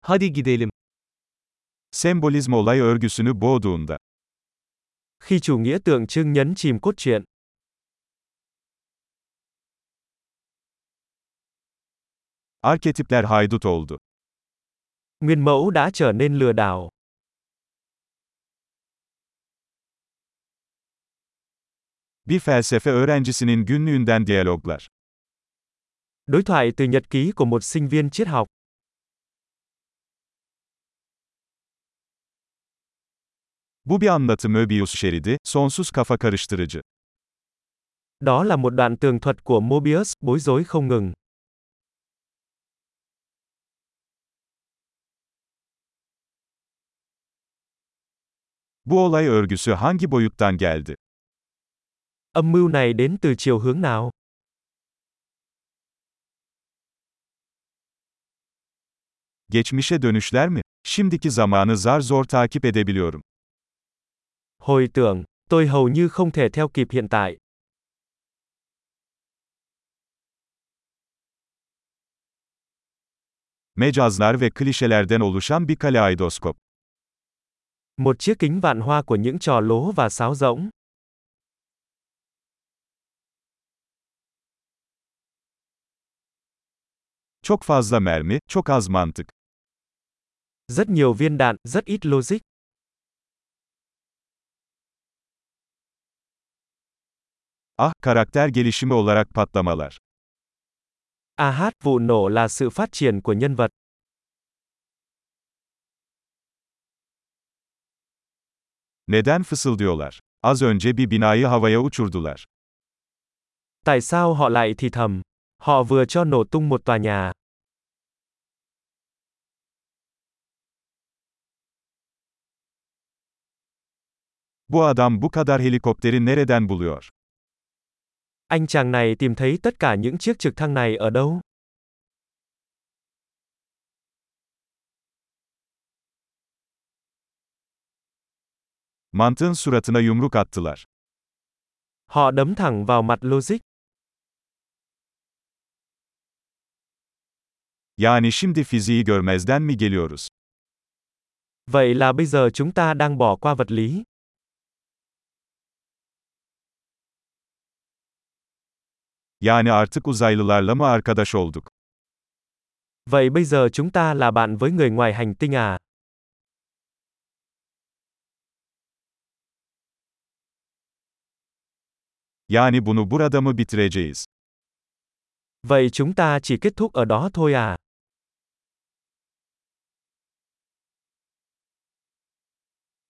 Hadi gidelim. Sembolizm olay örgüsünü boğduğunda. Khi chủ nghĩa tượng trưng nhấn chìm cốt truyện. Arketipler haydut oldu. Nguyên mẫu đã trở nên lừa đảo. Bir felsefe öğrencisinin günlüğünden diyaloglar. Đối thoại từ nhật ký của một sinh viên triết học. Bu bir anlatı Möbius şeridi, sonsuz kafa karıştırıcı. Đó là một đoạn tường thuật của Mobius, bối rối không ngừng. Bu olay örgüsü hangi boyuttan geldi? Âm mưu này đến từ chiều hướng nào? Geçmişe dönüşler mi? Şimdiki zamanı zar zor takip edebiliyorum. Hồi tưởng, tôi hầu như không thể theo kịp hiện tại. Mecazlar ve klişelerden oluşan bir kaleidoskop. Một chiếc kính vạn hoa của những trò lố và sáo rỗng. Çok fazla mermi, çok az mantık. Rất nhiều viên đạn, rất ít logic. Ah, karakter gelişimi olarak patlamalar. Vụ nổ là sự phát triển của nhân vật. Neden fısıldıyorlar? Az önce bir binayı havaya uçurdular. Tại sao họ lại thì thầm? Họ vừa cho nổ tung một tòa nhà. Bu adam bu kadar helikopteri nereden buluyor? Anh chàng này tìm thấy tất cả những chiếc trực thăng này ở đâu? Mantığın suratına yumruk attılar. Họ đấm thẳng vào mặt logic. Yani şimdi fiziği görmezden mi geliyoruz? Vậy là bây giờ chúng ta đang bỏ qua vật lý. Yani artık uzaylılarla mı arkadaş olduk? Vậy bây giờ chúng ta là bạn với người ngoài hành tinh à? Yani bunu burada mı bitireceğiz? Vậy chúng ta chỉ kết thúc ở đó thôi à?